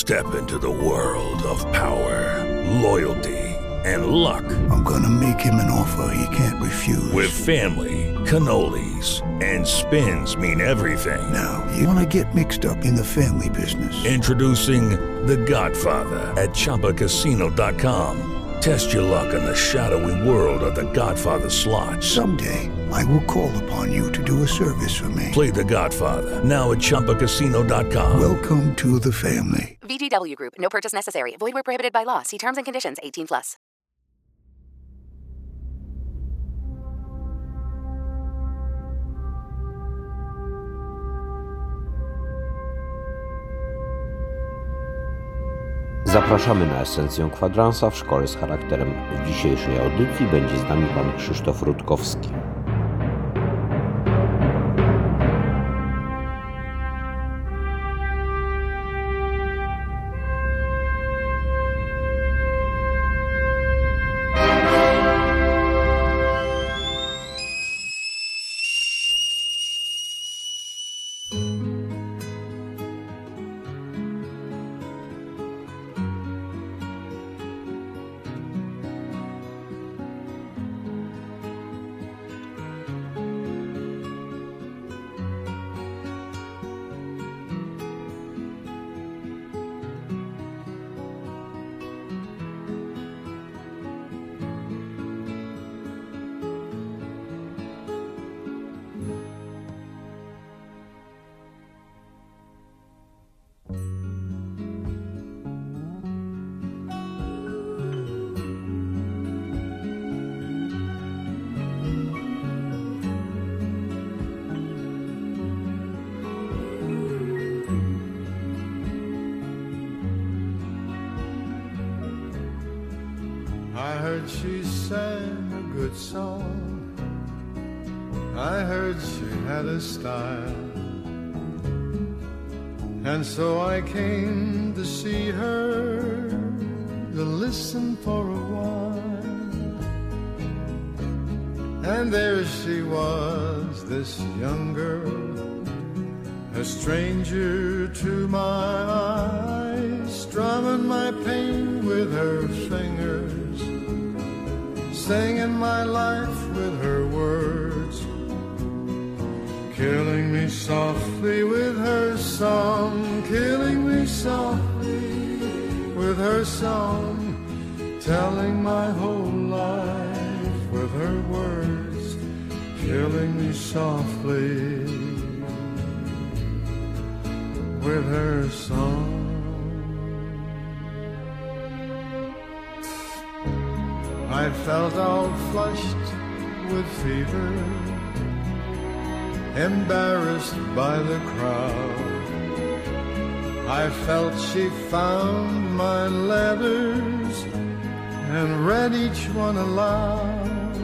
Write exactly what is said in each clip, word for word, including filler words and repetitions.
Step into the world of power, loyalty, and luck. I'm gonna make him an offer he can't refuse. With family, cannolis, and spins mean everything. Now, you wanna get mixed up in the family business. Introducing The Godfather at Chumba Casino dot com. Test your luck in the shadowy world of The Godfather slot. Someday, I will call upon you to do a service for me. Play The Godfather, now at Chumba Casino dot com. Welcome to the family. V G W Group. No purchase necessary. Void where prohibited by law. See terms and conditions. eighteen plus. Zapraszamy na esencję kwadransa w Szkole z charakterem. W dzisiejszej audycji będzie z nami pan Krzysztof Rutkowski. I heard she sang a good song. I heard she had a style. And so I came to see her, to listen for a while. And there she was, this young girl, a stranger to my eyes, strumming my pain with her fingers, singing my life with her words, killing me softly with her song, killing me softly with her song, telling my whole life with her words, killing me softly with her song. I felt all flushed with fever, embarrassed by the crowd. I felt she found my letters and read each one aloud.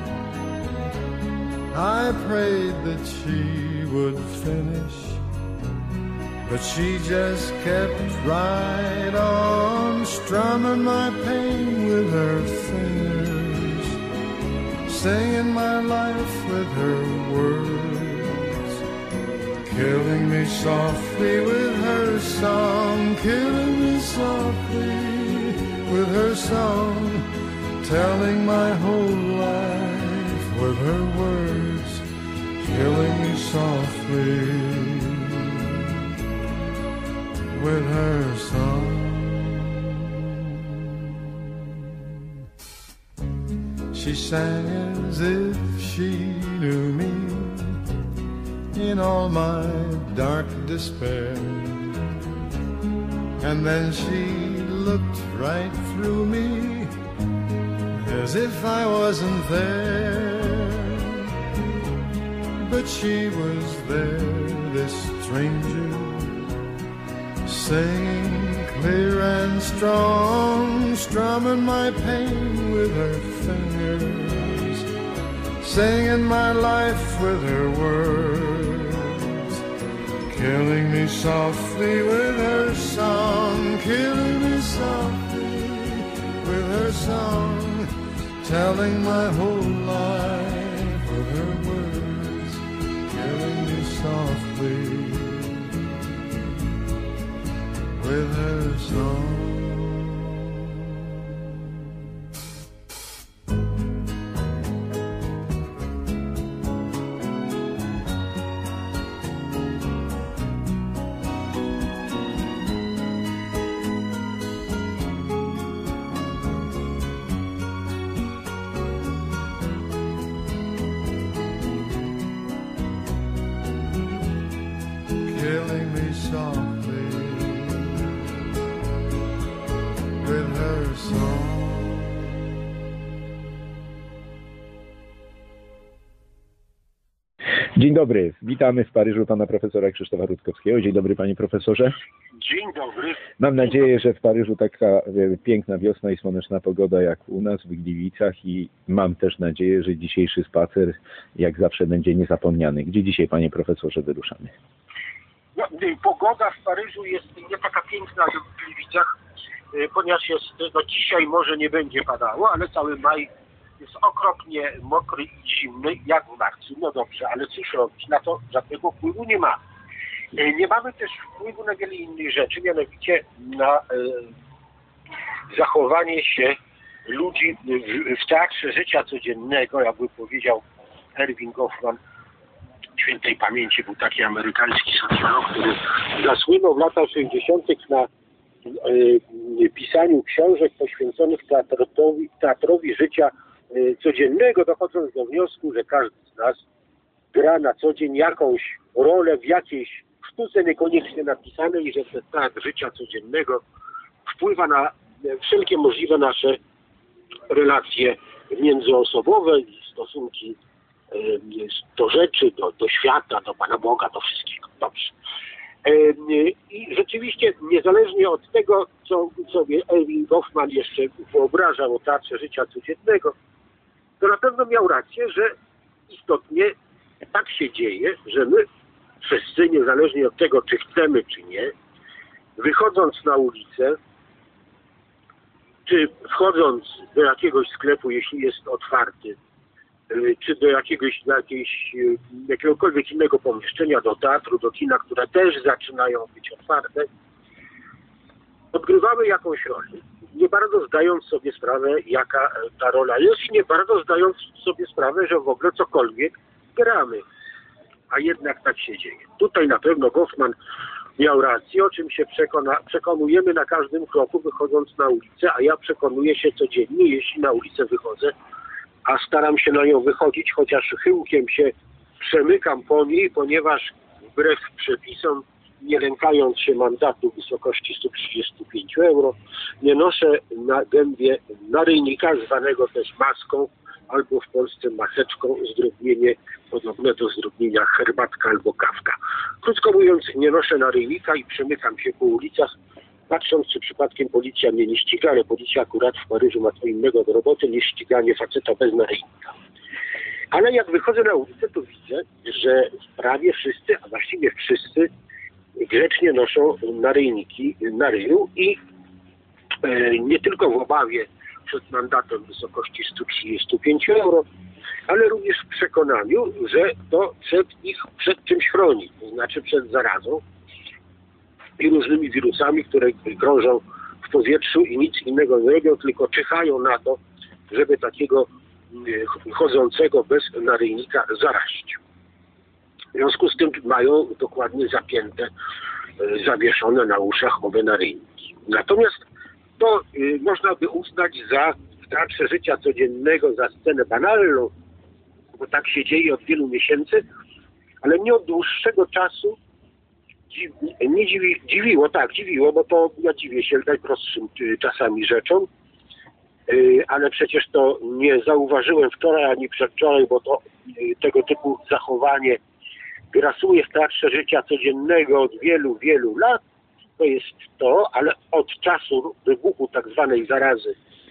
I prayed that she would finish, but she just kept right on, strumming my pain with her fingers, singing my life with her words, killing me softly with her song, killing me softly with her song, telling my whole life with her words, killing me softly with her song. She sang as if she knew me in all my dark despair, and then she looked right through me as if I wasn't there. But she was there, this stranger, singing clear and strong, strumming my pain with her fingers, singing my life with her words, killing me softly with her song, killing me softly with her song, telling my whole life with her words, killing me softly with her song. Killing me softly with her song. Dzień dobry, witamy w Paryżu pana profesora Krzysztofa Rutkowskiego. Dzień dobry panie profesorze. Dzień dobry. Mam nadzieję, że w Paryżu taka e, piękna wiosna i słoneczna pogoda jak u nas w Gliwicach i mam też nadzieję, że dzisiejszy spacer jak zawsze będzie niezapomniany. Gdzie dzisiaj panie profesorze wyruszamy? No, pogoda w Paryżu jest nie taka piękna jak w Gliwicach, ponieważ jest, no dzisiaj może nie będzie padało, ale cały maj jest okropnie mokry i zimny, jak w marcu. No dobrze, ale cóż robić? Na to żadnego wpływu nie ma. Nie mamy też wpływu na wiele innych rzeczy, mianowicie na e, zachowanie się ludzi w, w teatrze życia codziennego, jakby powiedział Erving Goffman, świętej pamięci, był taki amerykański socjolog, który zasłynął w latach sześćdziesiątych na y, pisaniu książek poświęconych teatrowi, teatrowi życia y, codziennego, dochodząc do wniosku, że każdy z nas gra na co dzień jakąś rolę w jakiejś sztuce niekoniecznie napisanej i że ten teatr życia codziennego wpływa na wszelkie możliwe nasze relacje międzyosobowe i stosunki do rzeczy, do, do świata, do Pana Boga, do wszystkiego. Dobrze. I rzeczywiście niezależnie od tego, co sobie Erving Goffman jeszcze wyobrażał o teatrze życia codziennego, to na pewno miał rację, że istotnie tak się dzieje, że my wszyscy, niezależnie od tego, czy chcemy, czy nie, wychodząc na ulicę, czy wchodząc do jakiegoś sklepu, jeśli jest otwarty, czy do jakiegoś, do jakiejś, jakiegokolwiek innego pomieszczenia, do teatru, do kina, które też zaczynają być otwarte, odgrywamy jakąś rolę, nie bardzo zdając sobie sprawę, jaka ta rola jest i nie bardzo zdając sobie sprawę, że w ogóle cokolwiek gramy. A jednak tak się dzieje. Tutaj na pewno Goffman miał rację, o czym się przekona, przekonujemy na każdym kroku, wychodząc na ulicę, a ja przekonuję się codziennie, jeśli na ulicę wychodzę, a staram się na nią wychodzić, chociaż chyłkiem się przemykam po niej, ponieważ wbrew przepisom, nie lękając się mandatu w wysokości stu trzydziestu pięciu euro, nie noszę na gębie naryjnika, zwanego też maską, albo w Polsce maseczką, zdrobnienie podobne do zdrobnienia herbatka albo kawka. Krótko mówiąc, nie noszę naryjnika i przemykam się po ulicach, patrząc, czy przypadkiem policja mnie nie ściga, ale policja akurat w Paryżu ma co innego do roboty niż ściganie faceta bez naryjnika. Ale jak wychodzę na ulicę, to widzę, że prawie wszyscy, a właściwie wszyscy grzecznie noszą naryjniki na ryju i e, nie tylko w obawie przed mandatem w wysokości stu trzydziestu pięciu euro, ale również w przekonaniu, że to przed ich przed czymś chroni, to znaczy przed zarazą i różnymi wirusami, które krążą w powietrzu i nic innego nie robią, tylko czyhają na to, żeby takiego chodzącego bez naryjnika zarazić. W związku z tym mają dokładnie zapięte, zawieszone na uszach owe naryjniki. Natomiast to y, można by uznać za w teatrze życia codziennego za scenę banalną, bo tak się dzieje od wielu miesięcy, ale nie od dłuższego czasu dziw, nie dziwi, dziwiło, tak, dziwiło, bo to ja dziwię się najprostszym y, czasami rzeczom, y, ale przecież to nie zauważyłem wczoraj ani przedwczoraj, bo to y, tego typu zachowanie grasuje w teatrze życia codziennego od wielu, wielu lat. To jest to, ale od czasu wybuchu tak zwanej zarazy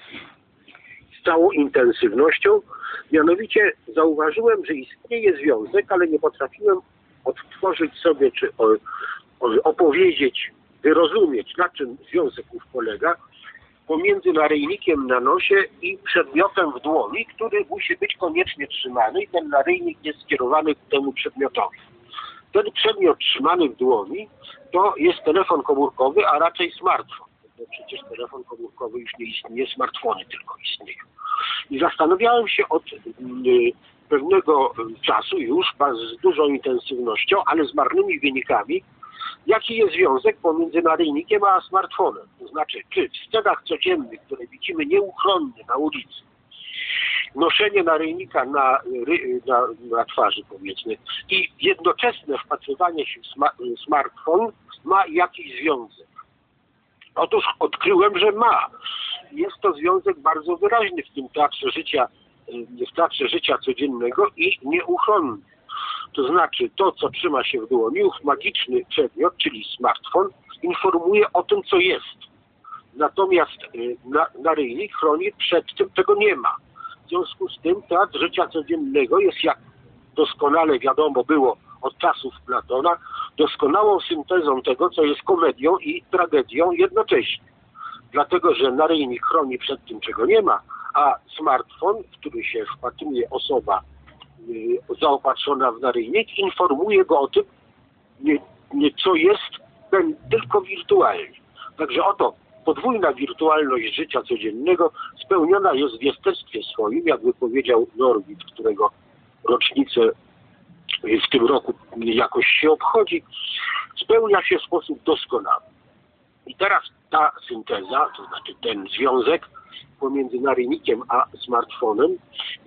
z całą intensywnością, mianowicie zauważyłem, że istnieje związek, ale nie potrafiłem odtworzyć sobie, czy opowiedzieć, wyrozumieć, na czym związek ów polega, pomiędzy naryjnikiem na nosie i przedmiotem w dłoni, który musi być koniecznie trzymany i ten naryjnik jest skierowany ku temu przedmiotowi. Ten przedmiot trzymany w dłoni to jest telefon komórkowy, a raczej smartfon. No przecież telefon komórkowy już nie istnieje, smartfony tylko istnieją. I zastanawiałem się od y, pewnego czasu już z dużą intensywnością, ale z marnymi wynikami, jaki jest związek pomiędzy naryjnikiem a smartfonem. To znaczy, czy w scenach codziennych, które widzimy nieuchronnie na ulicy, noszenie naryjnika na, na, na twarzy, powiedzmy, i jednoczesne wpatrywanie się w sma, smartfon ma jakiś związek. Otóż odkryłem, że ma. Jest to związek bardzo wyraźny w tym teatrze życia, w teatrze życia codziennego i nieuchronny. To znaczy to, co trzyma się w dłoni, ów magiczny przedmiot, czyli smartfon, informuje o tym, co jest. Natomiast na, naryjnik chroni przed tym, czego nie ma. W związku z tym teatr życia codziennego jest, jak doskonale wiadomo było od czasów Platona, doskonałą syntezą tego, co jest komedią i tragedią jednocześnie. Dlatego, że naryjnik chroni przed tym, czego nie ma, a smartfon, w który się wpatruje osoba y, zaopatrzona w naryjnik, informuje go o tym, nie, nie, co jest, ten, tylko wirtualnie. Także oto podwójna wirtualność życia codziennego spełniona jest w jestestwie swoim, jakby powiedział Norwid, którego rocznicę w tym roku jakoś się obchodzi, spełnia się w sposób doskonały. I teraz ta synteza, to znaczy ten związek pomiędzy naryjnikiem a smartfonem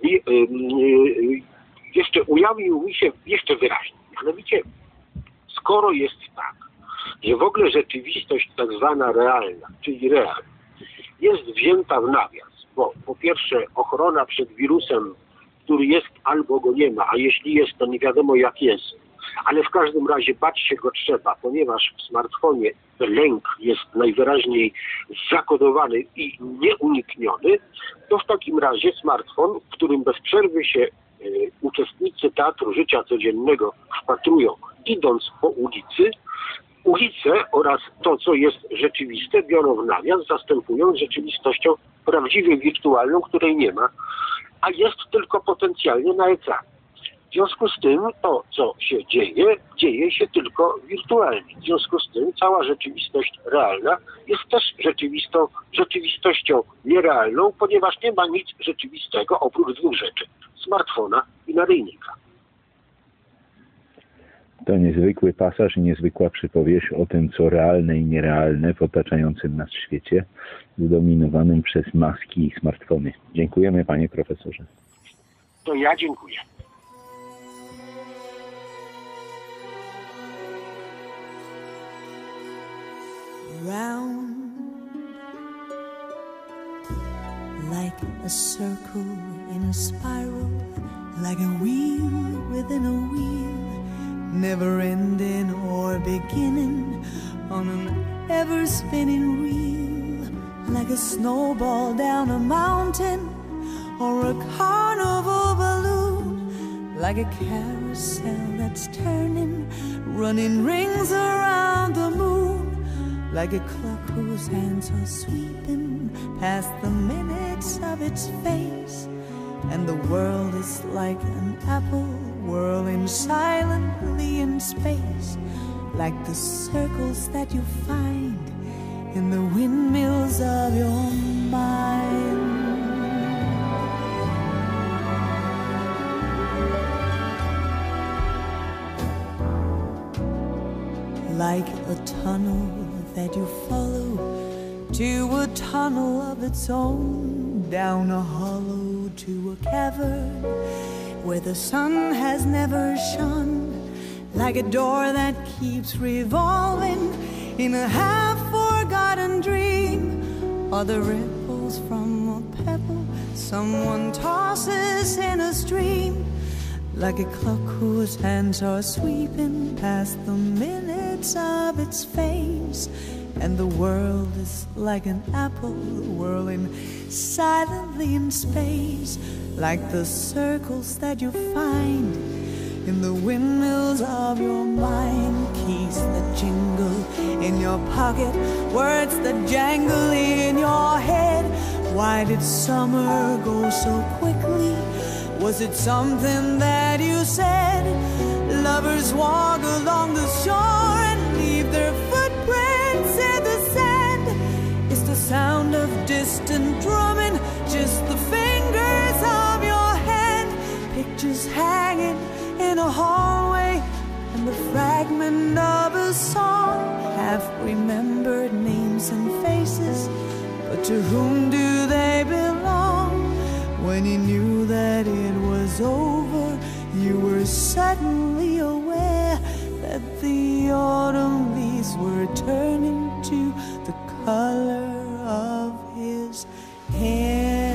jeszcze ujawnił mi się jeszcze wyraźniej. Mianowicie, skoro jest tak, że w ogóle rzeczywistość tak zwana realna, czyli real, jest wzięta w nawias, bo po pierwsze ochrona przed wirusem, który jest albo go nie ma, a jeśli jest, to nie wiadomo jak jest, ale w każdym razie bać się go trzeba, ponieważ w smartfonie lęk jest najwyraźniej zakodowany i nieunikniony, to w takim razie smartfon, w którym bez przerwy się y, uczestnicy teatru życia codziennego wpatrują, idąc po ulicy, ulice oraz to, co jest rzeczywiste, biorą w nawias, zastępując rzeczywistością prawdziwie wirtualną, której nie ma, a jest tylko potencjalnie na ekranie. W związku z tym to, co się dzieje, dzieje się tylko wirtualnie. W związku z tym cała rzeczywistość realna jest też rzeczywistą, rzeczywistością nierealną, ponieważ nie ma nic rzeczywistego oprócz dwóch rzeczy: smartfona i naryjnika. To niezwykły pasaż i niezwykła przypowieść o tym, co realne i nierealne w otaczającym nas świecie, zdominowanym przez maski i smartfony. Dziękujemy, panie profesorze. To ja dziękuję. Round like a circle in a spiral, like a wheel within a wheel, never ending or beginning on an ever spinning reel, like a snowball down a mountain or a carnival balloon, like a carousel that's turning, running rings around the moon, like a clock whose hands are sweeping past the minutes of its face, and the world is like an apple whirling silently in space, like the circles that you find in the windmills of your mind. Like a tunnel that you follow to a tunnel of its own, down a hollow to a cavern where the sun has never shone, like a door that keeps revolving in a half-forgotten dream, or the ripples from a pebble someone tosses in a stream, like a clock whose hands are sweeping past the minutes of its face, and the world is like an apple whirling silently in space, like the circles that you find in the windmills of your mind. Keys that jingle in your pocket, words that jangle in your head. Why did summer go so quickly? Was it something that you said? Lovers walk along the shore and leave their footprints in the sand, sound of distant drumming, just the fingers of your hand. Pictures hanging in a hallway, and the fragment of a song. Half-remembered names and faces, but to whom do they belong? When you knew that it was over, you were suddenly aware that the autumn leaves were turning to the color of his hair.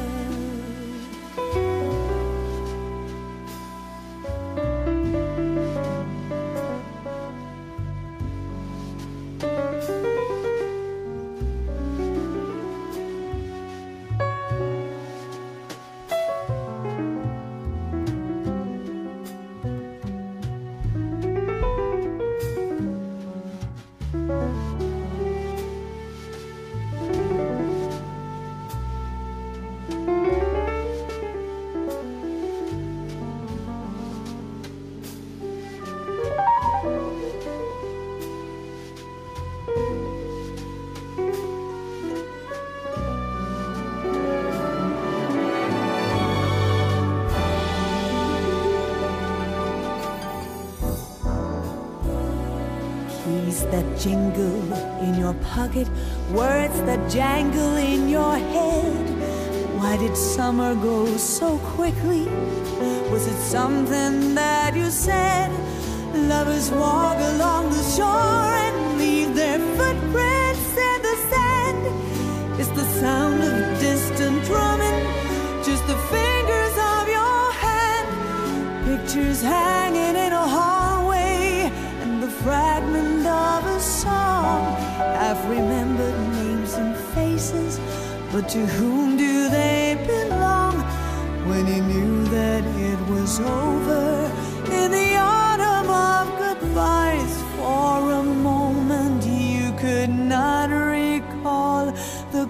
That jingle in your pocket, words that jangle in your head. Why did summer go so quickly? Was it something that you said? Lovers walk along the shore and leave their footprints in the sand. It's the sound of distant drumming, just the fingers of your hand. Pictures hanging in a hallway, and the fragment of a song. Half-remembered names and faces, but to whom do they belong? When you knew that it was over, in the autumn of goodbyes, for a moment you could not recall the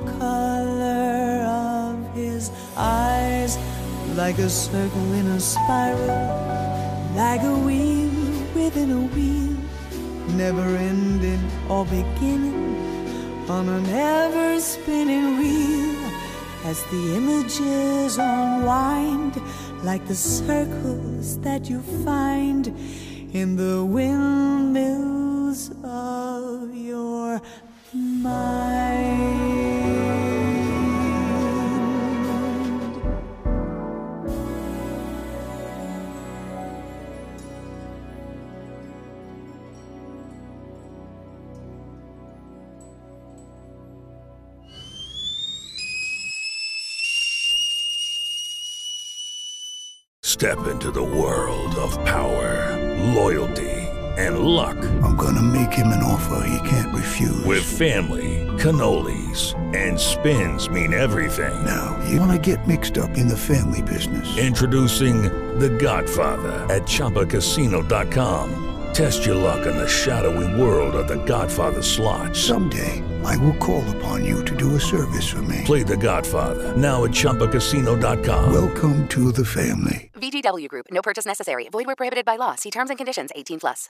color of his eyes. Like a circle in a spiral, like a wheel within a wheel, never ending or beginning on an ever-spinning reel. As the images unwind, like the circles that you find in the windmills of your mind. Step into the world of power, loyalty, and luck. I'm gonna make him an offer he can't refuse. With family, cannolis, and spins mean everything. Now, you wanna get mixed up in the family business. Introducing The Godfather at Chumba Casino dot com. Test your luck in the shadowy world of The Godfather slot. Someday, I will call upon you to do a service for me. Play The Godfather now at Chumba Casino dot com. Welcome to the family. V G W Group. No purchase necessary. Void where prohibited by law. See terms and conditions. eighteen plus.